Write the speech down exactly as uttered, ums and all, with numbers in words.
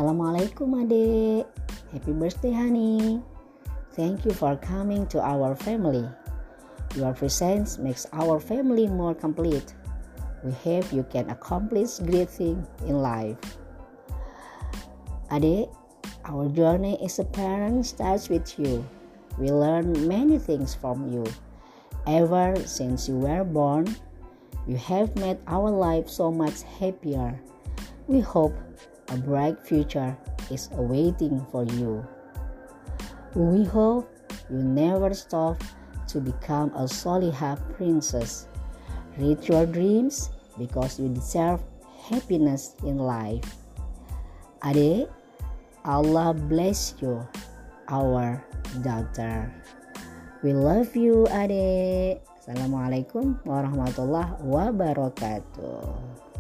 Assalamualaikum adik. Happy birthday honey. Thank you for coming to our family. Your presence makes our family more complete. We hope you can accomplish great things in life. Adik, our journey as a parent starts with you. We learn many things from you. Ever since you were born, you have made our life so much happier. We hope a bright future is awaiting for you. We hope you never stop to become a Solihah princess. Reach your dreams because you deserve happiness in life. Adik, Allah bless you, our daughter. We love you, adik. Assalamualaikum warahmatullahi wabarakatuh.